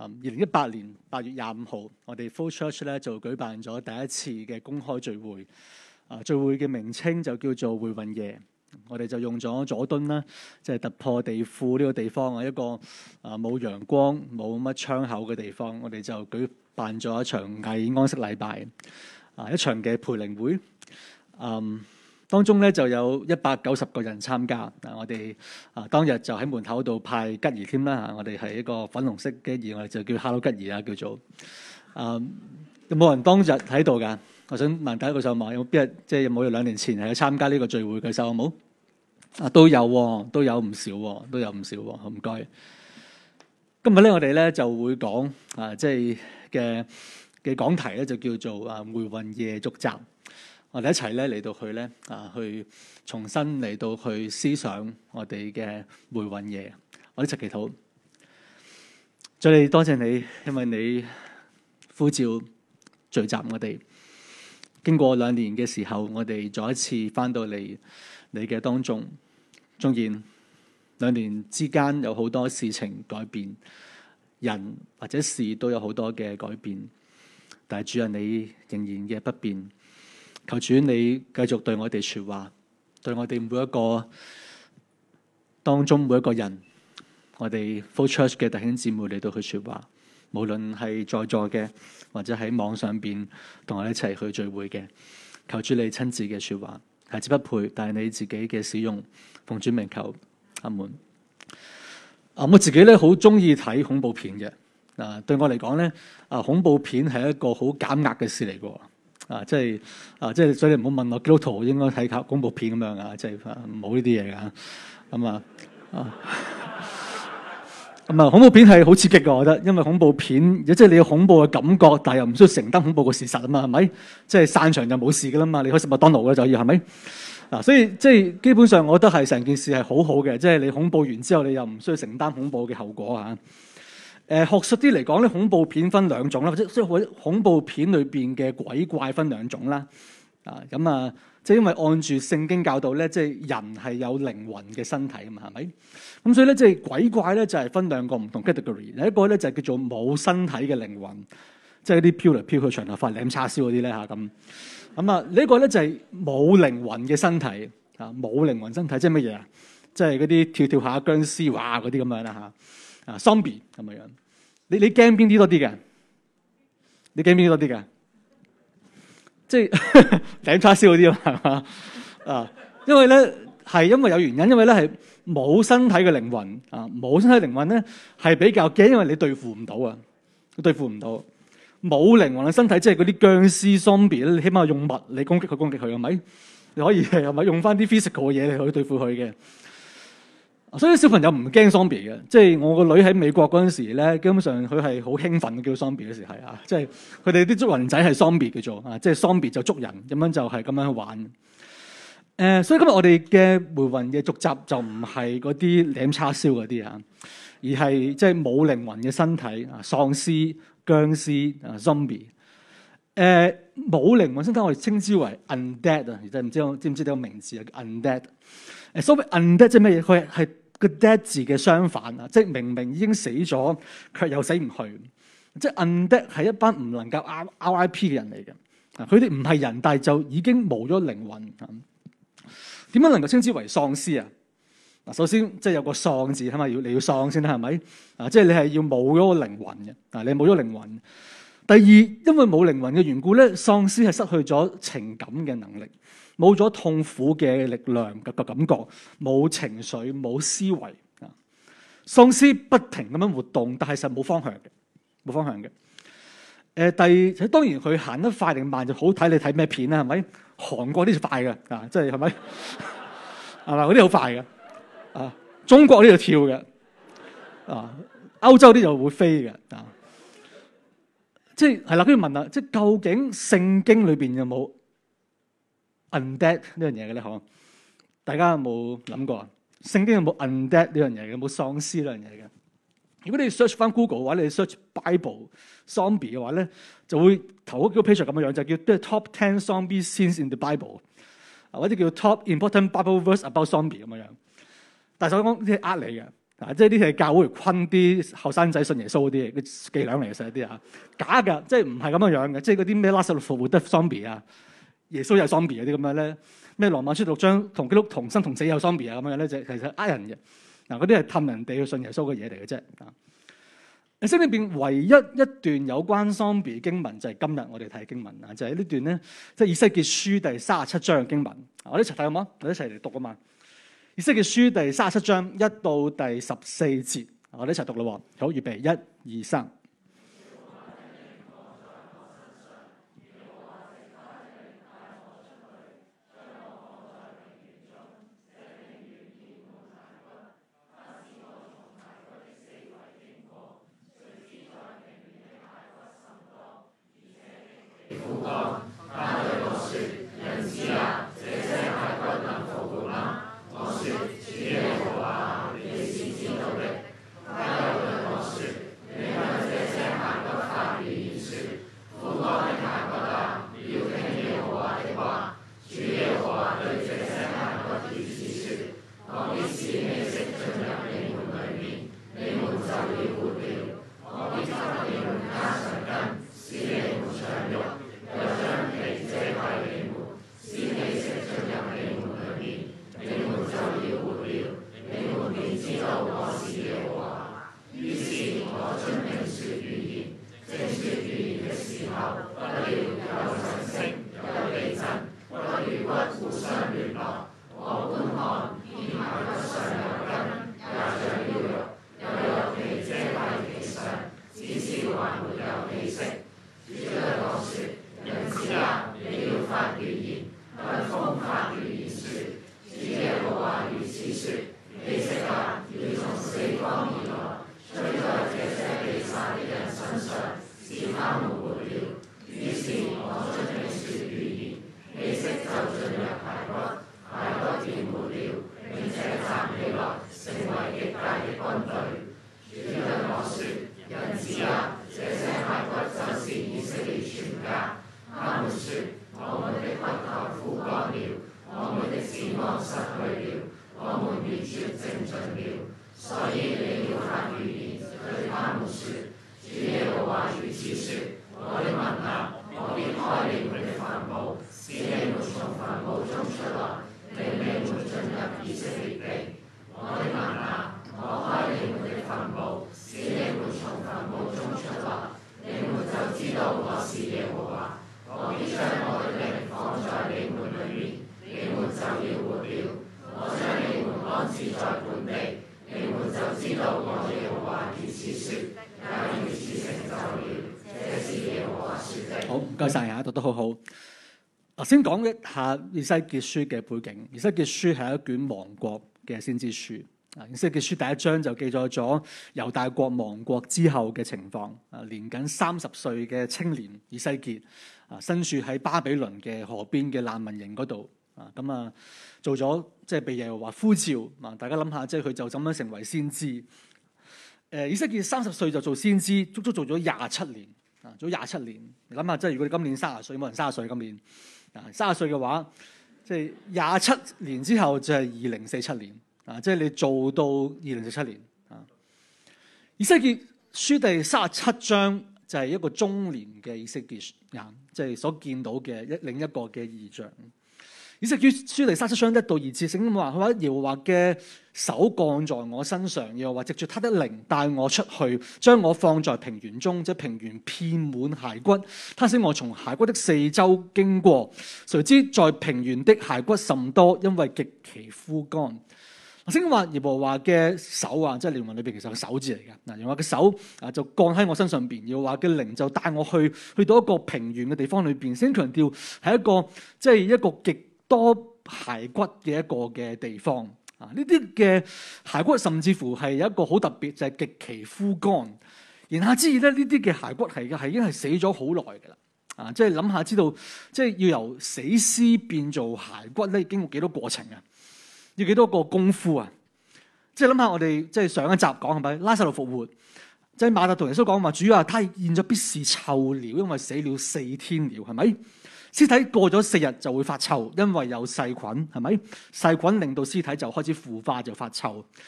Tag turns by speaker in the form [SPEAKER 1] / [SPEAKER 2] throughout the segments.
[SPEAKER 1] 2018年8月25號，我哋 Flow Church 咧就舉辦咗第一次嘅公開聚會。聚會嘅名稱就叫做回魂夜。我哋就用咗佐敦啦，即係突破地庫呢個地方，一個冇陽光、冇乜窗口嘅地方，我哋就舉辦咗一場偽安息禮拜，一場嘅培靈會。當中咧就有190個人參加。我哋當日就喺門口度派吉兒添啦。我哋係一個粉紅色嘅吉兒，我哋就叫 Hello 吉兒啊，叫做。有冇人當日喺度㗎？我想問第一個手望，有冇邊日即係有冇2年前係去參加呢個聚會嘅手有冇？都有喎，都有唔少喎，都有唔少喎。好唔該。今日咧，我哋咧就會講即係嘅講題咧，就叫做回魂夜續集。我哋一齊咧嚟到去咧去重新嚟到去思想我哋嘅回魂夜。我哋一齊祈禱。再嚟多謝你，因為你呼召聚集我哋。經過2年嘅時候，我哋再一次翻到嚟你嘅當中。縱然2年之間有好多事情改變，人或者事都有好多嘅改變，但係主啊，你仍然嘅不變。求主你繼續對我哋說話，對我哋每一個當中每一個人，我哋 Flow Church 嘅弟兄姊妹嚟到去說話，無論係在座嘅或者喺網上邊同我哋一齊去聚會嘅，求主你親自嘅說話，孩子不配，但係你自己嘅使用，奉主名求，阿門。我自己咧好中意睇恐怖片嘅。對我嚟講咧，恐怖片係一個好減壓嘅事嚟嘅。即係，所以你唔好問我基督徒應該睇恐怖片咁樣啊，即係冇呢啲嘢噶。恐怖片係好刺激嘅，我覺得，因為恐怖片即係你有恐怖嘅感覺，但係又唔需要承擔恐怖嘅事實啊嘛，係咪？即係散場就冇事噶啦嘛，你可以食麥當勞嘅就要係咪？所以即係基本上，我覺得係成件事係好好嘅，即係你恐怖完之後，你又唔需要承擔恐怖嘅後果啊。學術啲嚟講咧，恐怖片分2種啦，或者即係恐怖片裏邊嘅鬼怪分2種啦。即係因為按住聖經教導咧，即係人係有靈魂嘅身體啊嘛，係咪？咁所以咧，即係鬼怪咧就係分2個唔同 category。有一個咧就叫做冇身體嘅靈魂，即係啲飄嚟飄去長頭髮舐叉燒嗰啲咧嚇咁。呢個咧就係冇靈魂嘅身體冇靈魂身體即係乜嘢啊？即係嗰啲跳跳下僵屍哇嗰啲咁樣啦嚇zombie 咁樣。你驚邊啲多啲嘅？你驚邊啲多啲嘅？即係舐叉燒嗰啲係嘛？因為咧係因為有原因，因為咧係冇身體嘅靈魂冇身體靈魂咧係比較驚，因為你對付唔到啊，對付唔到。冇靈魂嘅身體，即係嗰啲僵屍 zombie 咧，你起碼用物理攻擊佢係咪？你可以係咪用翻啲 physical 嘅嘢嚟去對付佢嘅？所以小朋友唔驚 zombie 嘅，即係我個女喺美國嗰陣時咧，基本上佢係好興奮嘅，叫 zombie 嗰時係即係佢哋啲捉人仔係 zombie 叫做即係 zombie 就捉人咁樣就係咁樣去玩。所以今日我哋嘅回魂嘅續集就唔係嗰啲舐叉燒嗰啲而係即係冇靈魂嘅身體喪屍、僵屍zombie。冇靈魂身體我哋稱之為 undead 啊，唔知唔知呢個名字啊？叫 undead。所謂 undead 即係咩嘢？佢係個 dead 字嘅相反啊！即係明明已經死咗，卻又死唔去。即係 undead 係一班唔能夠 RIP 嘅人嚟嘅。佢哋唔係人，但係就已經冇咗靈魂。點樣能夠稱之為喪屍啊？首先即係有個喪字，係咪你要喪先啦？係咪？即係你係要冇咗個靈魂嘅。你冇咗靈魂。第二，因為冇靈魂嘅緣故咧，喪屍係失去咗情感嘅能力。冇咗痛苦嘅力量嘅感覺，冇情緒，冇思維啊！喪屍不停咁樣活動，但係實冇方向嘅，冇方向嘅。當然佢行得快定慢就好睇你睇咩片啦，係咪？韓國啲就快嘅即係係咪？係嘛？嗰啲好快嘅中國呢度跳嘅歐洲啲就會飛嘅即係啦。跟住問啦，即係究竟聖經裏邊有冇undead 呢樣嘢嘅咧？嗬，大家有冇諗過啊？聖經有冇 undead 呢樣嘢嘅？有冇喪屍呢樣嘢嘅？如果你 search 翻 Google 嘅話，你 search Bible zombie 嘅話咧，就會頭嗰幾個 page 咁樣樣，就叫即係 top 10 zombie scenes in the Bible，或者叫 top important Bible verse about zombie 咁樣樣。但係我講啲係呃你嘅， 即係呢啲係教會昆啲後生仔信耶穌嗰啲嘅伎倆嚟嘅，實啲啊假㗎，即係唔係咁樣嘅，即係嗰啲咩拉撒路復活得 zombie 啊，耶穌有 zombie 嗰啲咁樣咧，咩羅馬書6章同基督同生同死有 zombie 啊咁樣咧，就其實呃人嘅嗰啲係氹人哋去信耶穌嘅嘢嚟嘅啫。聖經裏邊唯一一段有關 zombie 經文就係今日我哋睇經文啊，就係呢段咧，即係以西結書第37章嘅經文。我哋一齊睇好冇？我哋一齊嚟讀啊嘛！以西結書第37章1到第14節，我哋一齊讀咯。好，預備1、2、3。好，唔該晒啊，讀得好好。先講一下以西結書嘅背景。以西結書係一卷亡國嘅先知書。以西結書第1章就記載咗猶大國亡國之後嘅情況。年僅30歲嘅青年以西結，身處喺巴比倫嘅河邊嘅難民營嗰度。做咗即係被耶和華呼召。大家諗下，即係佢就咁樣成為先知。以西結30歲就做先知，足足做咗27年。做咗27年，你諗下，即係如果你今年30歲，冇人30歲今年，30歲嘅話，即係27年之後就係2047年，即係你做到2047年。以西結書第37章就係一個中年嘅以西結人，即係所見到嘅另一個嘅異象。以西結書第37章1到2節，聖經話：佢話耶和華嘅手降在我身上，又話藉住他的靈帶我出去，將我放在平原中，即係平原遍滿骸骨。他使我從骸骨的四周經過，誰知在平原的骸骨甚多，因為極其枯乾。聖經話耶和華嘅手啊，即係靈魂裏邊其實係個手字嚟嘅。耶和華嘅手就降喺我身上邊，耶和華嘅靈就帶我去到一個平原嘅地方裏邊。先強調係一個即係一個極多骸骨嘅一個嘅地方。呢啲嘅骸骨甚至乎係有一個好特別，就係極其枯乾。言下之意咧，呢啲嘅骸骨係已經係死咗好耐㗎啦。即係諗下知道，即係要由死屍變做骸骨咧，經過幾多過程啊？要幾多個功夫啊？即係諗下我哋即係上一集講係咪拉撒路復活？即係馬太同耶穌講話，主啊，他現在必是臭了，因為死了4天了，係咪？屍體過咗4日就會發臭，因為有細菌，係咪？細菌令到屍體就開始腐化，就發臭。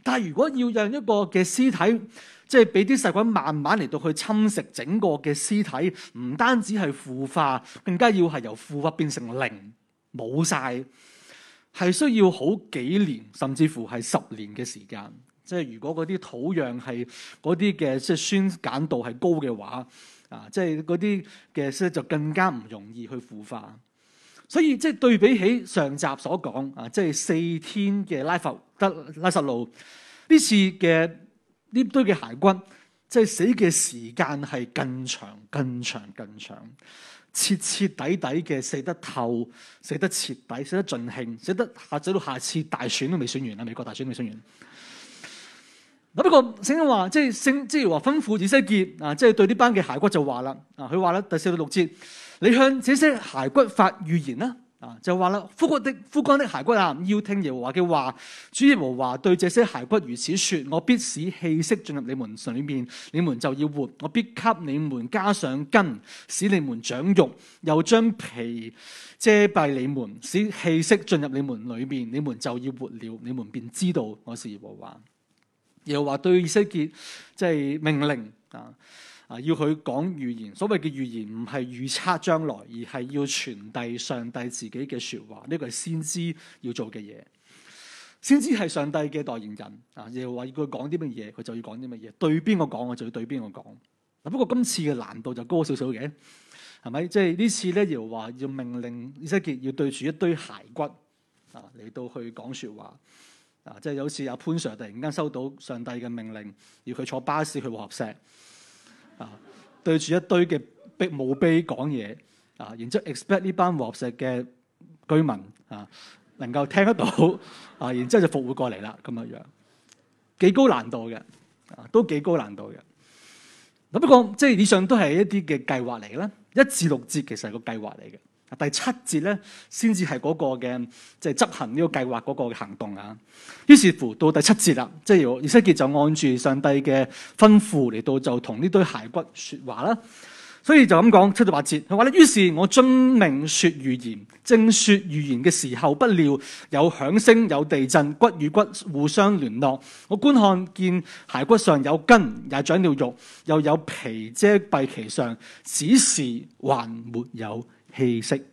[SPEAKER 1] 但係如果要讓一個嘅屍體，即係俾啲細菌慢慢嚟到去侵蝕整個嘅屍體，唔單止係腐化，更加要係由腐化變成零，冇晒，係需要好幾年，甚至乎係10年嘅時間。即係如果嗰啲土壤係嗰啲嘅即係酸鹼度係高嘅話，即係嗰啲嘅咧就更加唔容易去腐化。所以即係對比起上集所講即係4天嘅拉撒路呢次嘅呢堆嘅骸骨，即係死嘅時間係更長、更長、更長，徹徹底底嘅死得透、死得徹底、死得盡興、死到下次大選都未選完啦，美國大選都未選完。不過聖經話，即係話吩咐以西結即係對呢班嘅骸骨就話啦，佢話咧第4到6節，你向這些骸骨發預言啦，就話啦，枯乾的骸骨要聽耶和華嘅話，主耶和華對這些骸骨如此說：我必使氣息進入你們裏面，你們就要活；我必給你們加上筋，使你們長肉，又將皮遮蔽你們，使氣息進入你們裏面，你們就要活了，你們便知道我是耶和華。耶和華對以西結即係命令要佢講預言。所謂嘅預言唔係預測將來，而係要傳遞上帝自己嘅說話。呢個係先知要做嘅嘢。先知係上帝嘅代言人。耶和華要佢講啲乜嘢，佢就要講啲乜嘢。對邊個講，我就要對邊個講。不過今次嘅難度就高少少嘅，係咪？即係呢次咧，耶和華要命令以西結要對住一堆骸骨嚟到去講說話。即係有次阿潘 Sir 突然間收到上帝嘅命令，要佢坐巴士去和合石，對住一堆嘅墓碑講嘢，然之後 expect 呢班和合石嘅居民能夠聽得到，然之後就復活過嚟啦，咁樣幾高難度嘅，都幾高難度嘅。不過即係以上都係一啲嘅計劃嚟嘅啦，1至6節其實係個計劃嚟嘅。第7節咧，先至係嗰個嘅即係執行呢個計劃嗰個嘅行動啊。於是乎到第7節啦，即係以西結就按住上帝嘅吩咐嚟到就同呢堆骸骨說話啦。所以就咁講7到8節，佢話咧：於是我遵命說預言，正說預言嘅時候，不料有響聲，有地震，骨與骨互相聯絡。我觀看見骸骨上有筋，也長了肉，又有皮遮蔽其上，只是還沒有氣息。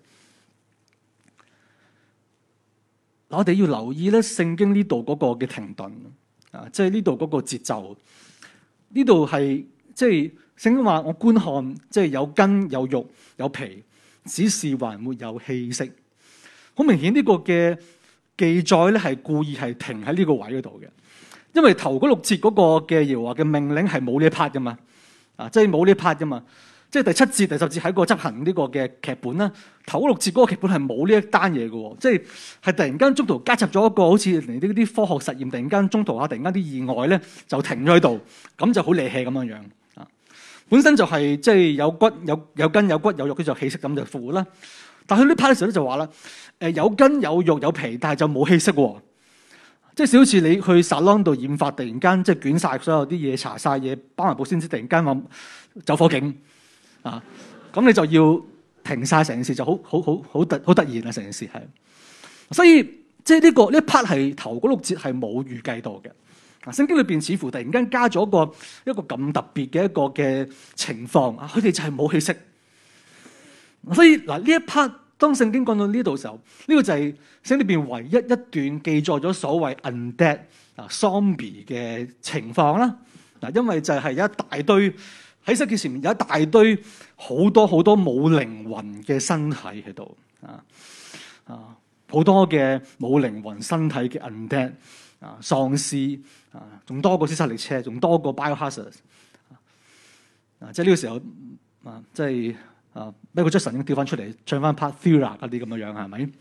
[SPEAKER 1] 我哋要留意咧，聖經呢度嗰個嘅停頓即係呢度嗰個節奏。呢度係即係聖經話，我觀看即係有筋有肉有皮，只是還沒有氣息。好明顯呢個嘅記載咧係故意係停喺呢個位嗰度嘅，因為頭嗰6節嗰個嘅耶和華嘅命令係冇呢一 part 噶嘛，即係冇呢一 part 噶嘛。即係第7節、第10節喺個執行呢個嘅劇本啦。頭6節嗰個劇本係冇呢一單嘢嘅，即係突然間中途加插咗一個好似嚟啲科學實驗，突然間中途突然間啲意外咧就停咗喺度，咁就好離氣咁樣樣本身就係即係有骨有筋有骨有肉，佢就氣息咁就復活啦。但係佢呢 part 嘅時候咧就話啦，有筋有肉有皮，但係就冇氣息喎。即係好似你去 salon 度染髮，突然間即係捲晒所有啲嘢，搽晒嘢，包埋保鮮紙，突然間話走火警。咁你就要停晒成件事，就好突然啊！成件事係，所以即係呢一 part 係頭嗰6節係冇預計到嘅。聖經裏邊似乎突然間加咗一個咁特別嘅一個嘅情況佢哋就係冇氣息。所以呢一 part 當聖經講到呢度嘅時候，呢個就係聖經裏邊唯一一段記載咗所謂 undead zombie 嘅情況啦。因為就係有一大堆。喺世界前面有一大堆好多冇靈魂嘅身體喺度好多嘅冇靈魂身體嘅 undead 喪屍仲多過屍殺列車，仲多過 biohazard 即係呢個時候即係Michael Jackson 已經調翻出嚟唱翻 Part Thriller 嗰啲咁嘅樣係咪？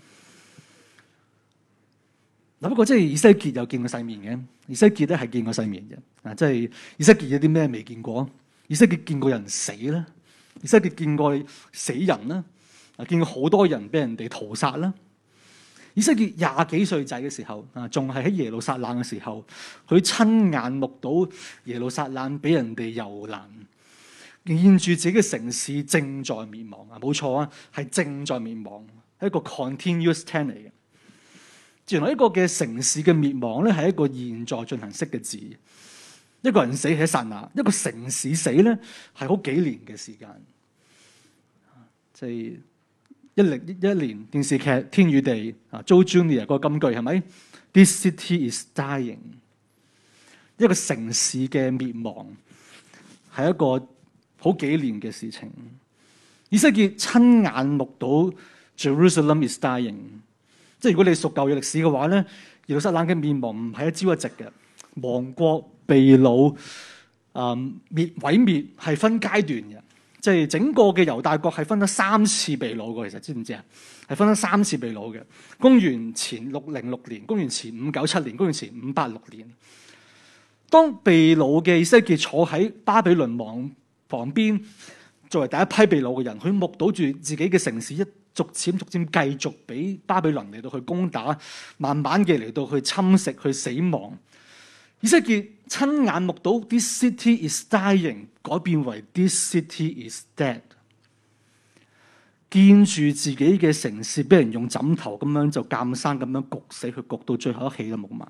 [SPEAKER 1] 不過即係以西結有見過世面嘅，以西結咧係見過世面嘅即係以西結有啲咩未見過？以西結見過人死啦，以西結見過死人啦，見過好多人俾人哋屠殺啦。以西結20幾歲仔嘅時候仲係喺耶路撒冷嘅時候，佢親眼目睹耶路撒冷俾人哋遊覽，見住自己嘅城市正在滅亡冇錯係正在滅亡，係一個 continuous tense 嚟嘅。 原來一個嘅城市嘅滅亡咧係一個現在進行式嘅字。一個人死係一剎那，一個城市死咧係好幾年嘅時間。即係一年電視劇《天與地》啊 ，Joe Junior 嗰個金句係咪 ？This city is dying。一個城市嘅滅亡係一個好幾年嘅事情。以西結親眼目睹 Jerusalem is dying。即係如果你熟舊約歷史嘅話咧，耶路撒冷嘅滅亡唔係一朝一夕嘅，亡國被擄毀滅係分階段嘅。即係整個嘅猶大國係分咗3次被擄嘅，其實知唔知啊？係分咗3次被擄嘅。公元前606年、公元前597年、公元前586年。當被擄嘅以西結坐喺巴比倫王旁邊，作為第一批被擄嘅人，佢目睹住自己嘅城市逐漸繼續俾巴比倫嚟到去攻打，慢慢嘅嚟到去侵蝕、去死亡。以西結親眼目睹 This city is dying 改變為 This city is dead， 見住自己嘅城市俾人用枕頭咁樣就監生咁樣焗死，佢焗到最後一氣都冇埋。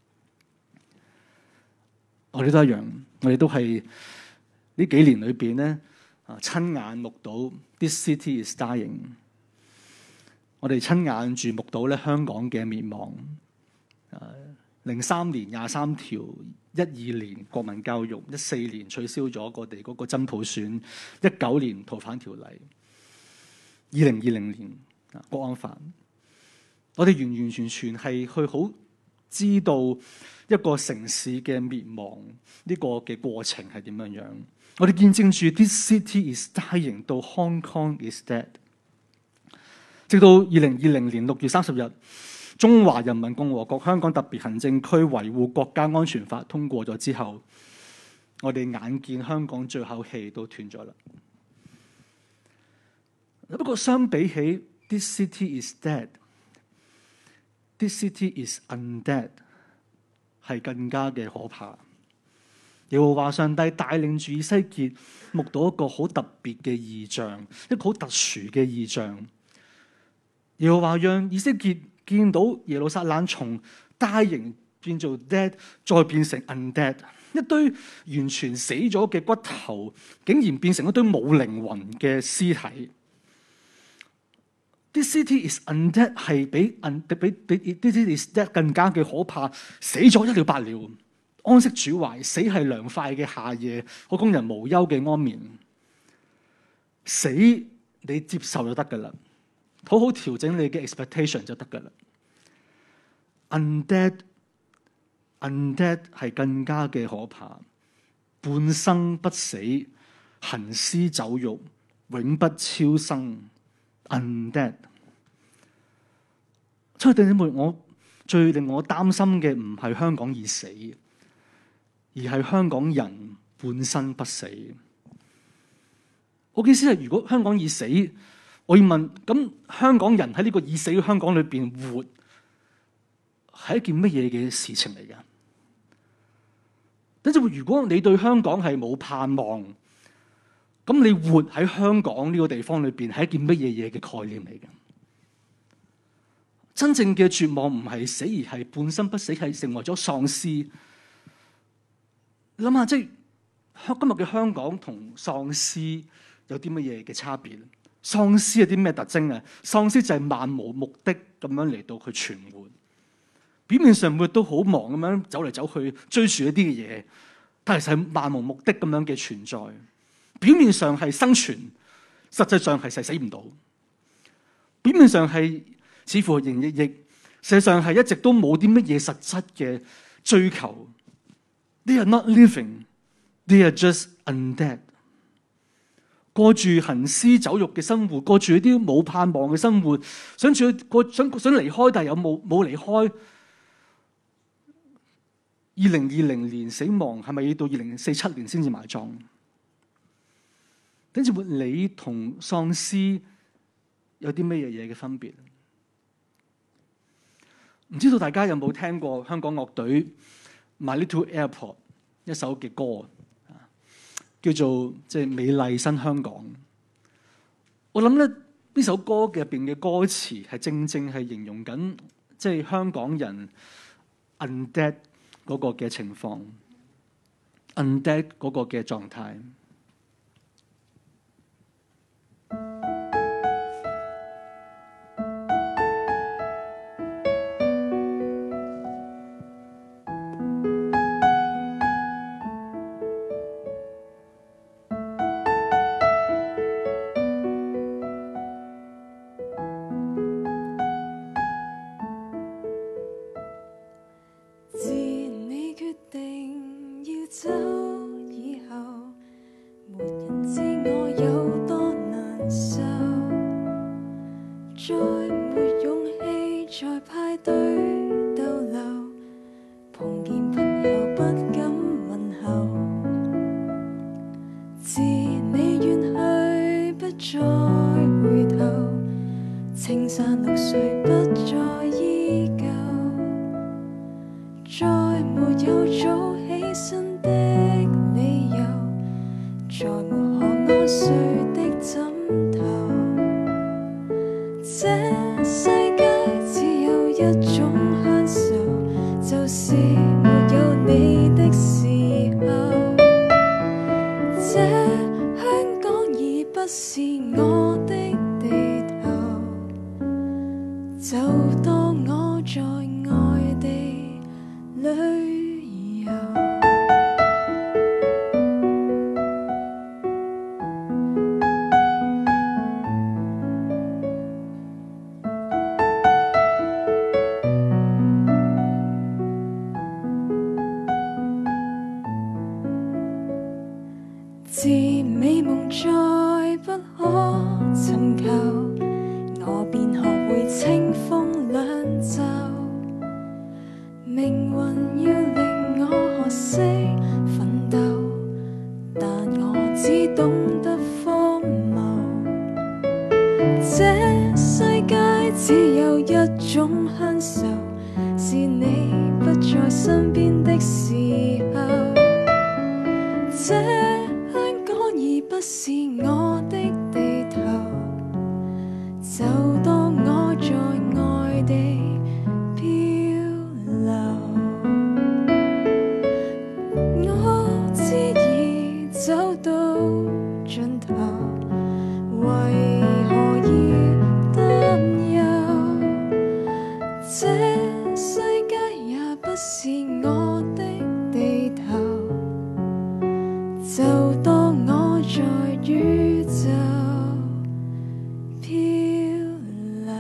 [SPEAKER 1] 我哋都一樣，我哋都係呢幾年裏邊咧親眼目睹 This city is dying。我哋親眼住目睹咧香港嘅滅亡。03年23條，12年國民教育，14年取消咗我哋嗰個真普選，19年逃犯條例，2020年國安法。我哋完全係去好知道一個城市嘅滅亡呢個嘅過程係點樣樣。我哋見證住 This city is dying 到 Hong Kong is dead， 直到2020年6月30日。中華人民共和國香港特別行政區維護國家安全法通過咗之後，我哋眼見香港最後氣都斷咗啦。不過相比起 This city is dead， This city is undead 係更加嘅可怕。耶和華上帝帶領住以西結目睹一個好特別嘅異象，一個好特殊嘅異象。耶和華讓以西結見到耶路撒冷從 dying 變做 dead， 再變成 undead， 一堆完全死咗嘅骨頭，竟然變成一堆冇靈魂嘅屍體。This city is undead 係比 This city is dead 更加嘅可怕。死咗一了百了，安息主懷，死係涼快嘅夏夜，可供人無憂嘅安眠。死你接受就得噶啦。好好調整你嘅 expectation 就得噶啦。Undead 係更加嘅可怕，半生不死，行屍走肉，永不超生。Undead。所以弟兄姊妹，我最令我擔心嘅唔係香港已死，而係香港人半生不死。我嘅意思係，如果香港已死，我要問，咁香港人喺呢個已死嘅香港裏邊活，係一件乜嘢嘅事情嚟㗎？等陣，如果你對香港係冇盼望，咁你活喺香港呢個地方裏邊係一件乜嘢嘅概念嚟㗎？真正嘅絕望唔係死，而係半生不死，係成為咗喪屍。你諗下，即係今日嘅香港同喪屍有啲乜嘢嘅差別？喪屍有啲咩特徵啊？喪屍就係漫無目的咁樣嚟到去存活，表面上每日都好忙咁樣走嚟走去追住一啲嘅嘢，但係係漫無目的咁樣嘅存在。表面上係生存，實際上係死唔到。表面上係似乎營營役役，實際上係一直都冇啲乜嘢實質嘅追求。They are not living, they are just undead。過住行屍走肉嘅生活，過住一啲冇盼望嘅生活，想離開，但係又冇離開。2020年死亡係咪要到2047年先至埋葬？跟住你同喪屍有啲咩嘢嘅分別？唔知道大家有冇聽過香港樂隊 My Little Airport 一首嘅歌？叫做美麗新香港。我諗咧呢首歌嘅入邊嘅歌詞係正係形容緊即係香港人 undead 嗰個嘅情況，undead 嗰個嘅狀態。
[SPEAKER 2] 自美夢再不可尋求，我便學會清風兩袖。命運要令我學識奮鬥，但我只懂得荒謬。這世界只有一種享受，是你不在身邊的時候。不是我的地頭，就當我在外地漂流。我知已走到盡頭，為何要擔憂？這世界也不是我的地頭，就當我在宇宙漂流。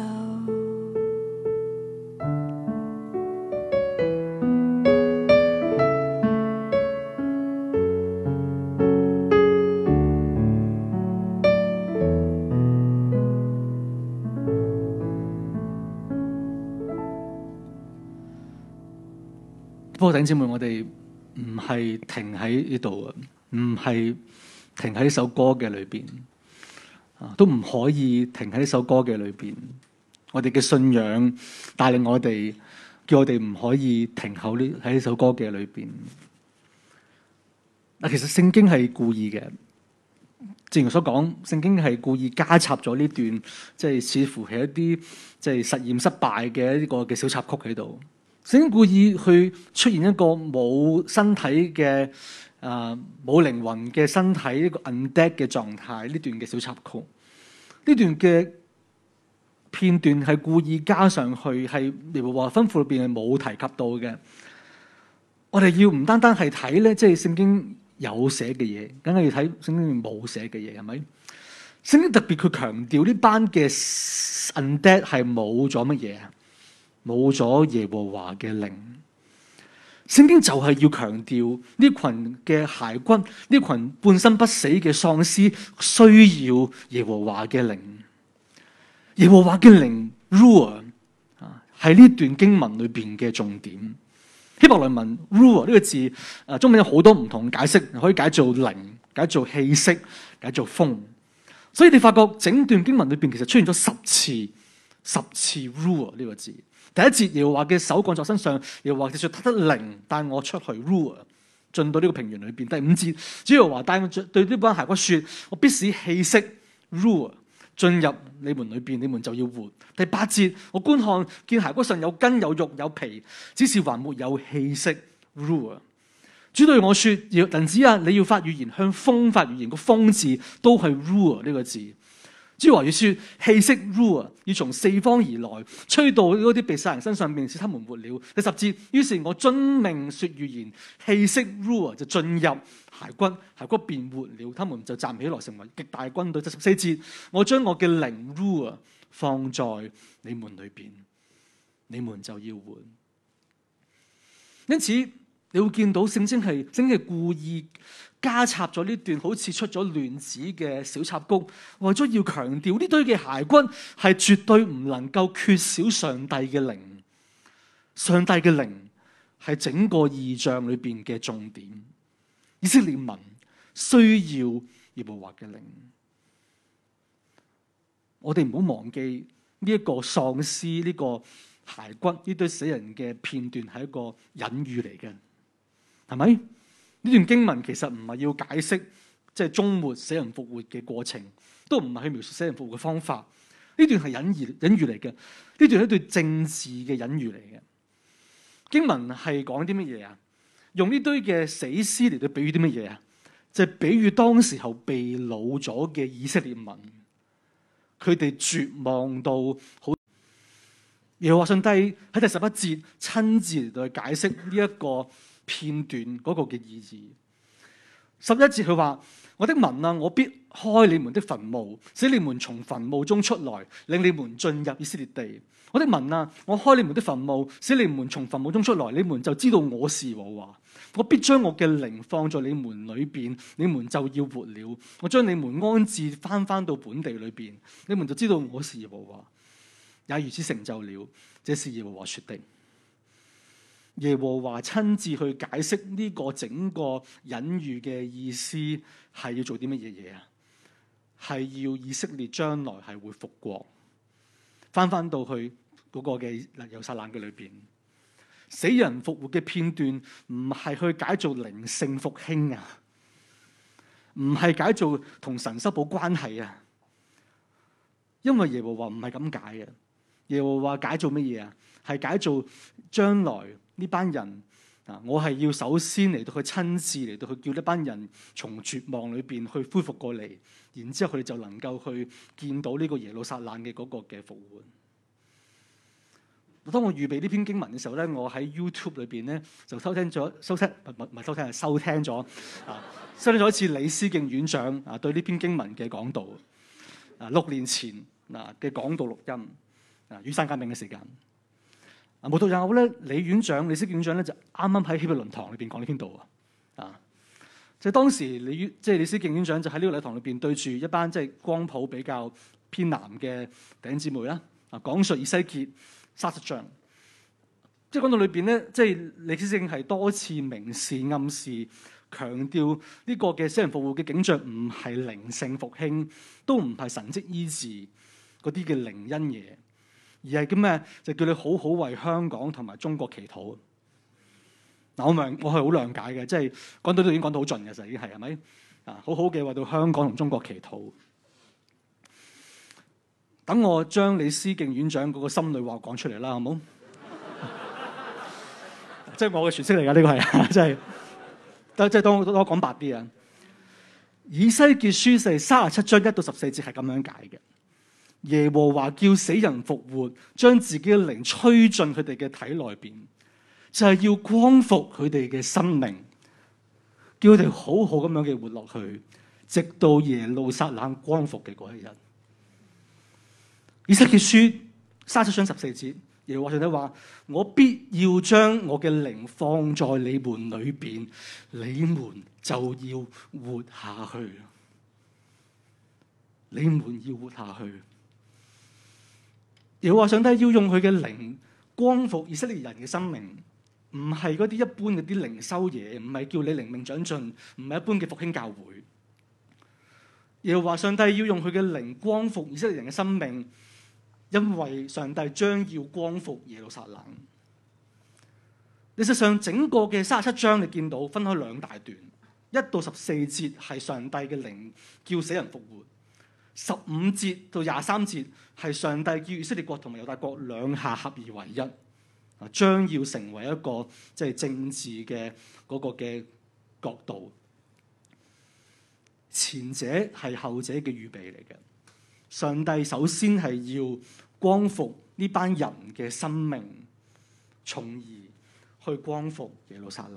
[SPEAKER 1] 不過弟兄姊妹，我哋唔係停喺呢度啊，唔係停喺呢首歌嘅裏邊，都唔可以停喺呢首歌嘅裏邊。我哋嘅信仰帶領我哋，叫我哋唔可以停喺呢首歌嘅裏邊。嗱，其實聖經係故意嘅，正如所講，聖經係故意加插咗呢段，即係似乎係一啲即係實驗失敗嘅呢個嘅小插曲喺度。聖經故意去出現一個冇身體嘅冇靈魂嘅身體，一個 undead 嘅狀態，呢段嘅小插曲，呢段嘅片段係故意加上去，係耶和華吩咐裏邊係冇提及到嘅。我哋要唔單單係睇咧，即係聖經有寫嘅嘢，梗係要睇聖經冇寫嘅嘢，係咪？聖經特別佢強調呢班嘅 undead 係冇咗乜嘢啊？冇咗耶和華嘅靈。聖經就係要強調呢群嘅骸骨，呢群半生不死嘅喪屍需要耶和華嘅靈。耶和華嘅靈 Ruah 係呢段經文裏邊嘅重點。希伯來文 Ruah 呢個字，中文有好多唔同解釋，可以解做靈，解做氣息，解做風。所以你發覺整段經文裏邊其實出現咗10次 Ruah 呢個字。第一節耶和華嘅手降在身上，耶和華說他的靈帶我出去 Ruah 進到呢個平原裏邊。第5節主耶和華帶我對呢班骸骨說，我必使氣息 Ruah 進入你們裏邊，你們就要活。第8節，我觀看見骸骨上有筋有肉有皮，只是還沒有氣息。Ruah， 主對我說：人子啊，你要發預言，向風發預言。個風字都係 Ruah 呢個字。主話要說氣息 Ruah 要從四方而來，吹到嗰啲被殺人身上面，使他們活了。第10節，於是我遵命說預言，氣息 Ruah 就進入骸骨，骸骨便活了，他們就站起來成為極大軍隊。第14節，我將我嘅靈 Ruah 放在你們裏邊，你們就要活。因此你會見到聖經係故意加插咗呢段好似出咗亂子嘅小插曲，為咗要強調呢堆嘅骸骨係絕對唔能夠缺少上帝嘅靈。上帝嘅靈係整個異象裏邊嘅重點。以色列民需要耶和華嘅靈。我哋唔好忘記呢一個喪屍，呢個骸骨，呢堆死人嘅片段係一個隱喻嚟嘅，係咪？呢段經文其實唔係要解釋即係終末死人復活嘅過程，都唔係去描述死人復活嘅方法。呢段係隱喻嚟嘅，呢段係一段政治嘅隱喻嚟嘅。經文係講啲乜嘢啊？用呢堆嘅死屍嚟到比喻啲乜嘢啊？就係比喻當時候被擄咗嘅以色列民，佢哋絕望到好。耶和華上帝喺第11節親自嚟到去解釋呢一個片段嗰個嘅意義。11節佢話：我的民啊，我必開你們的墳墓，使你們從墳墓中出來，領你們進入以色列地。我的民啊，我開你們的墳墓，使你們從墳墓中出來，你們就知道我是耶和華。我必將我嘅靈放在你們裏邊，你們就要活了。我將你們安置翻到本地裏邊，你們就知道我是耶和華，也如此成就了。這是耶和華說的。耶和華親自去解釋呢個整個隱喻嘅意思係要做啲乜嘢啊？係要以色列將來係會復國，翻到去嗰個嘅耶路撒冷嘅裏邊。死人復活嘅片段唔係去解做靈性復興啊，唔係解做同神修補關係啊，因為耶和華唔係咁解嘅。耶和華解做乜嘢啊？係解做將來呢班人啊！我係要首先嚟到去親自嚟到去叫呢班人從絕望裏邊去恢復過嚟，然之後佢哋就能夠去見到呢個耶路撒冷嘅嗰個嘅復活。當我預備呢篇經文嘅時候咧，我喺 YouTube 裏邊咧就收聽咗一次李思敬院長啊對呢篇經文嘅講道啊，6年前嘅講道錄音啊，雨傘革命嘅時間啊，無獨有偶咧，李思敬院長咧就啱啱喺協會論堂裏邊講呢篇道啊，就當時李思敬院長就喺呢個禮堂裏邊對住一班即係光譜比較偏南嘅弟兄姊妹啦啊，講述以西結30章，即係講到裏邊咧，即係李思敬係多次明示暗示，強調呢個嘅死人復活嘅景象唔係靈性復興，都唔係神蹟醫治嗰啲嘅靈恩嘢，而係咁咩？就叫你好好為香港同埋中國祈禱。嗱，我係好諒解嘅，即係講到都已經講到好盡嘅，就已經係咪啊？好好嘅為到香港同中國祈禱。等我將李思敬院長嗰個心裏話講出嚟啦，好冇？即係我嘅詮釋嚟㗎，呢個係即係當我講白啲啊。以西結書37章1到14節係咁樣解嘅。耶和華叫死人復活，將自己嘅靈吹進佢哋嘅體內邊，就係要光復佢哋嘅生命，叫佢哋好好咁樣嘅活落去，直到耶路撒冷光復嘅嗰一日。以西結書37章14節，耶和華上帝話：我必要將我嘅靈放在你們裏邊，你們就要活下去。你們要活下去。耶和華上帝要用佢嘅靈光復以色列人嘅生命，唔係嗰啲一般嗰啲靈修嘢，唔係叫你靈命長進，唔係一般嘅復興教會。耶和華上帝要用佢嘅靈光復以色列人嘅生命。因為上帝將要光復耶路撒冷。事實上，整個嘅37章你見到分開兩大段，1到14節係上帝嘅靈叫死人復活 15節到23節係上帝叫以色列國同埋猶大國兩下合而為一，將要成為一個即係政治嘅嗰個嘅國度。前者係後者嘅預備嚟嘅。上帝首先係要光復呢班人嘅生命，從而去光復耶路撒冷。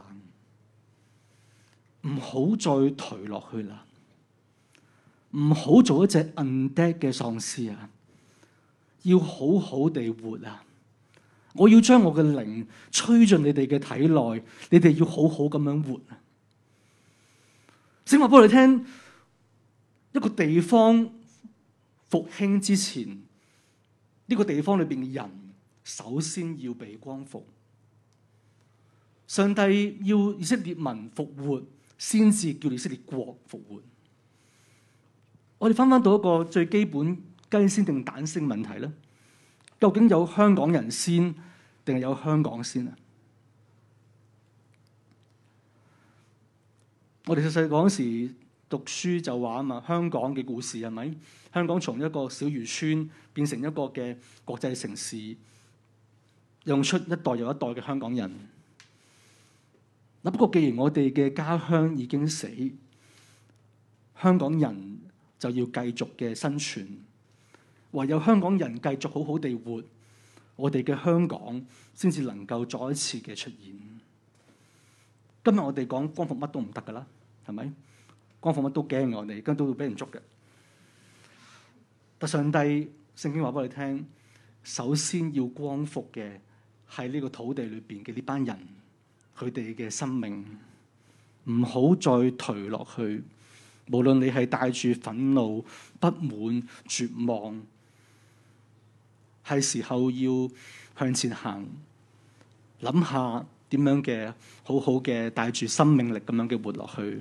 [SPEAKER 1] 唔好再頹落去啦，唔好做一隻 undead 嘅喪屍啊！要好好地活啊！我要將我嘅靈吹進你哋嘅體內，你哋要好好咁樣活啊！聖經話俾我哋聽，一個地方復興之前，呢個地方裏邊嘅人首先要被光復。上帝要以色列民復活，先至叫以色列國復活。我哋翻到一個最基本雞先定蛋先問題咧，究竟有香港人先定係有香港先啊？我哋細細嗰時讀書就話啊嘛，香港嘅故事係咪？香港從一個小漁村變成一個嘅國際城市，用出一代又一代嘅香港人。不過既然我哋嘅家鄉已經死，香港人就要繼續嘅生存，唯有香港人繼續好好地活，我哋嘅香港先至能夠再一次嘅出現。今日我哋講光復乜都唔得噶啦，係咪？光復乜都驚我哋，跟都會俾人捉嘅。但上帝聖經話俾我哋聽，首先要光復嘅係呢個土地裏邊嘅呢班人。佢哋嘅生命唔好再頹落去，無論你係帶住憤怒、不滿、絕望，係時候要向前行，諗下點樣嘅好好嘅帶住生命力咁樣嘅活落去。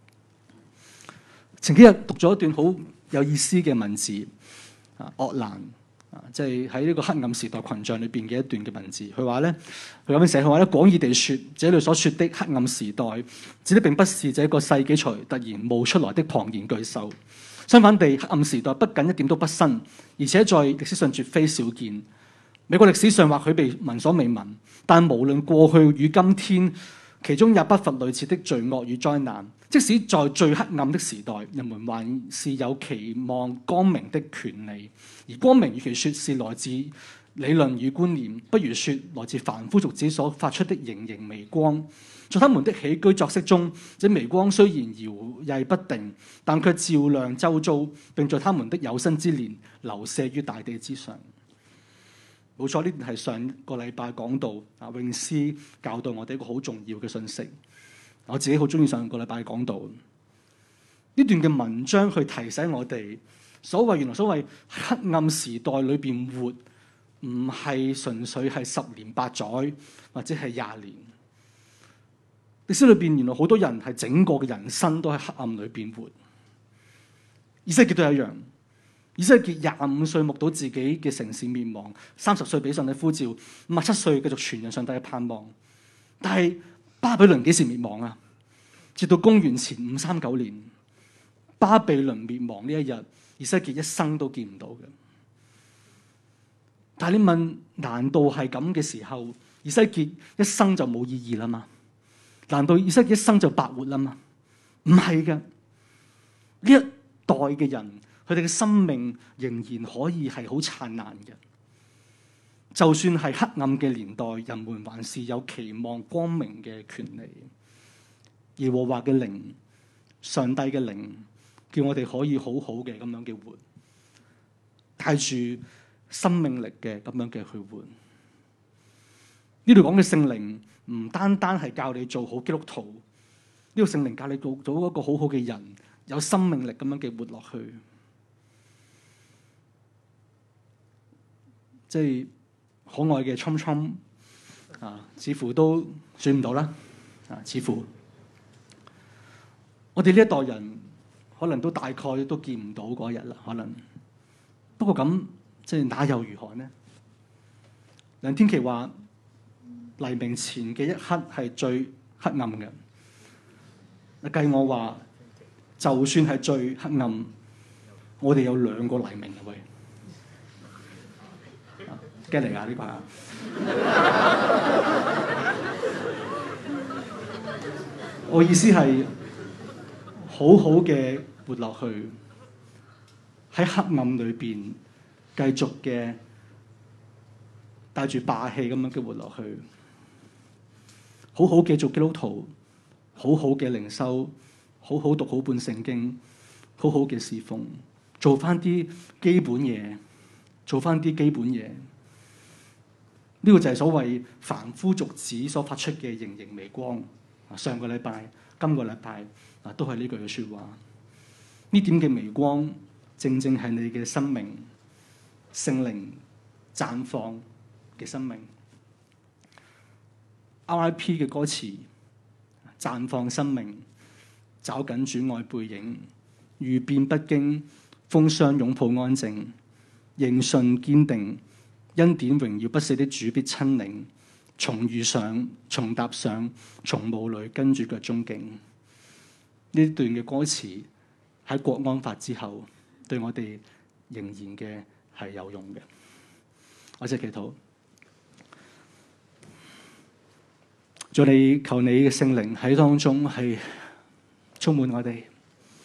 [SPEAKER 1] 前幾日讀咗一段好有意思嘅文字，鄂蘭。即係喺呢個黑暗時代群像裏邊嘅一段嘅文字，佢話咧，佢咁樣寫，佢話咧，廣義地說，這裏所說的黑暗時代，指的並不是這個世紀才突然冒出來的龐然巨獸。相反地，黑暗時代不僅一點都不新，而且在歷史上絕非少見。美國歷史上或許被聞所未聞，但無論過去與今天，其中也不乏類似的罪惡與災難。即使在最黑暗的時代，人們還是有期望光明的權利。而光明與其說是來自理論與觀念，不如說來自凡夫俗子所發出的瑩瑩微光。在他們的起居作息中，這微光雖然搖曳不定，但卻照亮周遭，並在他們的有生之年流瀉於大地之上。冇錯，呢段係上個禮拜講到詠詩教導我哋一個好重要嘅信息。我自己好中意上個禮拜講到呢段嘅文章，去提醒我哋，原來所謂黑暗時代裏邊活，唔係純粹係10年8載或者係20年。歷史裏邊原來好多人係整個嘅人生都喺黑暗裏邊活。以色列都一樣，以色列25歲目睹自己嘅城市滅亡，30歲俾上帝呼召，57歲繼續傳揚上帝嘅盼望。但係巴比倫幾時滅亡啊？直到公元前539年，巴比倫滅亡呢一日，以色列一生都見唔到嘅。但係你問，難道係咁嘅時候，以色列一生就冇意義啦嘛？難道以色列一生就白活啦嘛？唔係嘅，呢一代嘅人，佢哋嘅生命仍然可以係好燦爛嘅。就算係黑暗嘅年代，人們還是有期望光明嘅權利。耶和華嘅靈，上帝嘅靈，叫我哋可以好好嘅咁樣嘅活，帶住生命力嘅咁樣嘅去活。呢度講嘅聖靈唔單單係教你做好基督徒，呢個聖靈教你做一個好好嘅人，有生命力咁樣嘅活落去。即係可愛嘅侵侵似乎都算唔到啦。似乎我哋呢一代人可能都大概都見唔到嗰日啦。可能不過咁，即係那又如何呢？梁天琦話黎明前嘅一刻係最黑暗嘅。計我話，就算係最黑暗， 我哋有2個黎明啊喂，驚嚟㗎呢個啊！我意思係好好嘅活落去，喺黑暗裏邊繼續嘅帶住霸氣咁樣嘅活落去，好好嘅做基督徒，好好嘅靈修，好好讀好本聖經，好好嘅侍奉，做翻啲基本嘢，做翻啲基本嘢。呢個就係所謂凡夫俗子所發出嘅盈盈微光。上個禮拜、今個禮拜都係呢句嘅説話。呢點嘅微光，正正係你嘅生命、聖靈綻放嘅生命。R.I.P. 嘅歌詞，綻放生命，找緊主愛背影，遇變不驚，風霜擁抱安靜，認信堅定，恩典榮耀不死的主必親臨。從遇上，從踏上，從霧裏跟住腳蹤徑。呢段嘅歌詞喺國安法之後，對我哋仍然嘅係有用嘅。我只祈禱，求你嘅聖靈喺當中係充滿我哋。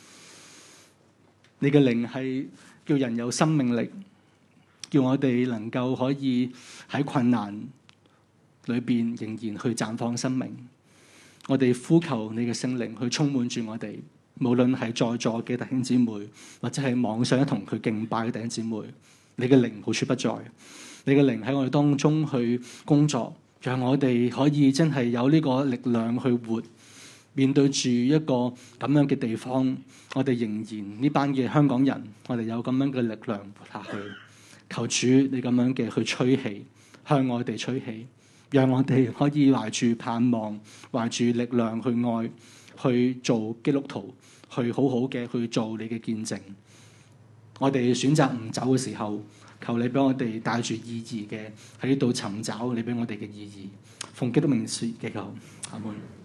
[SPEAKER 1] 你嘅靈係叫人有生命力，叫我哋能夠可以喺困難裏邊仍然去綻放生命。我哋呼求你嘅聖靈去充滿住我哋，無論係在座嘅弟兄姊妹，或者係網上一同佢敬拜嘅弟兄姊妹，你嘅靈無處不在，你嘅靈喺我哋當中去工作，讓我哋可以真係有呢個力量去活。面對住一個咁樣嘅地方，我哋仍然呢班嘅香港人，我哋有咁樣嘅力量活下去。求主你咁樣嘅去吹氣，向我哋吹氣，讓我哋可以懷住盼望，懷住力量去愛，去做基督徒，去好好嘅去做你嘅見證。我哋選擇唔走嘅時候，求你俾我哋帶住意義嘅喺呢度尋找你俾我哋嘅意義。奉基督名説祈求，阿門。